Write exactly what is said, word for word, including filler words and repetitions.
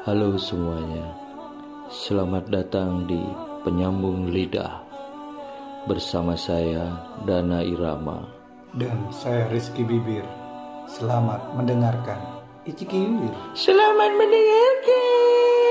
Halo semuanya, selamat datang di Penyambung Lidah. Bersama saya Dana Irama. Dan saya Rizky Bibir. Selamat mendengarkan. Iciki Bibir. Selamat mendengarkan.